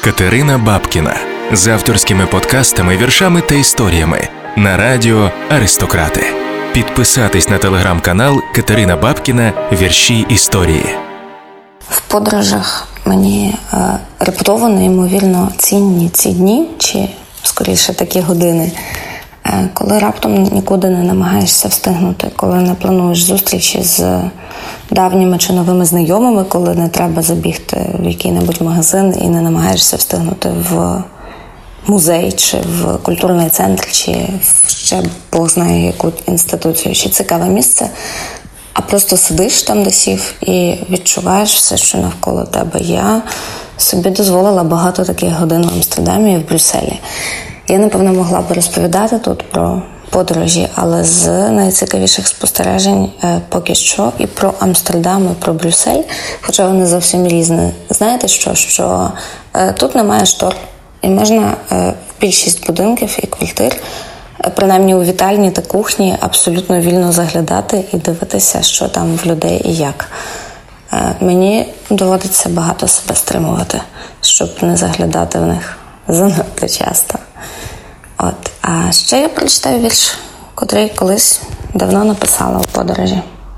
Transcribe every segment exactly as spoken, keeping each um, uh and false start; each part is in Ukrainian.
Катерина Бабкіна з авторськими подкастами, віршами та історіями на радіо «Аристократи». Підписатись на телеграм-канал Катерина Бабкіна «Вірші історії». В подорожах мені е, репутово неймовірно цінні ці дні, чи скоріше такі години, е, коли раптом нікуди не намагаєшся встигнути, коли не плануєш зустрічі з давніми чи новими знайомими, коли не треба забігти в який-небудь магазин і не намагаєшся встигнути в музей, чи в культурний центр, чи в ще Бог знає яку інституцію, чи цікаве місце, а просто сидиш там, де сів, і відчуваєш все, що навколо тебе. Я собі дозволила багато таких годин в Амстердамі і в Брюсселі. Я, напевно, могла б розповідати тут про подорожі, але з найцікавіших спостережень е, поки що і про Амстердам, і про Брюссель, хоча вони зовсім різні. Знаєте що? Що е, тут немає штор, і можна е, в більшість будинків і квартир, е, принаймні у вітальні та кухні, абсолютно вільно заглядати і дивитися, що там в людей і як. Е, мені доводиться багато себе стримувати, щоб не заглядати в них занадто часто. От. А ще я прочитаю вірш, котрий колись давно написала у подорожі.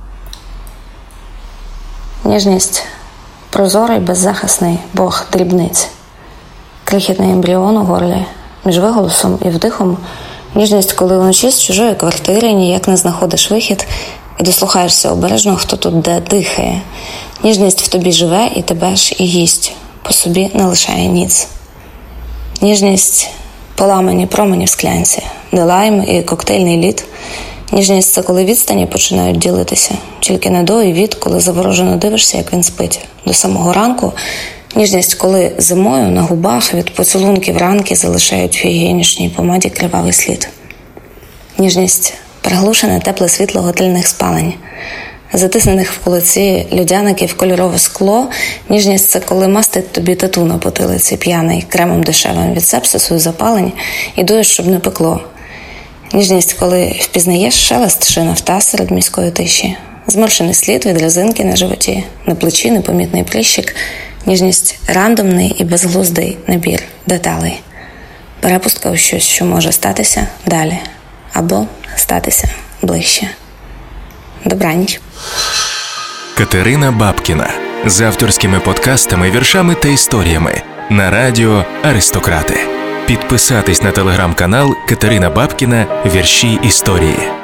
Ніжність – прозорий, беззахисний бог дрібниць. Крихітний ембріон у горлі, між виголосом і вдихом. Ніжність, коли вночі з чужої квартири ніяк не знаходиш вихід і дослухаєшся обережно, хто тут де дихає. Ніжність в тобі живе і тебе ж і їсть, по собі не лишає ніц. Ніжність – поламані промені в склянці, де лайм і коктейльний лід. Ніжність – це коли відстані починають ділитися. Тільки не до і від, коли заворожено дивишся, як він спить. До самого ранку. Ніжність, коли зимою на губах від поцілунків ранки залишають в гігієнічній помаді кривавий слід. Ніжність – приглушене тепле світло готельних спалень. Затиснених в кулаці людяників кольорове скло. Ніжність – це коли мастить тобі тату на потилиці п'яний, кремом дешевим від сепсису і запалень, і дуєш, щоб не пекло. Ніжність, коли впізнаєш шелест шин авто серед міської тиші, зморшений слід від резинки на животі, на плечі непомітний прищик. Ніжність – рандомний і безглуздий набір деталей. Перепустка у щось, що може статися далі, або статися ближче. Добраніч. Катерина Бабкіна з авторськими подкастами, віршами та історіями на радіо «Аристократи». Підписатись на телеграм-канал Катерина Бабкіна «Вірші історії».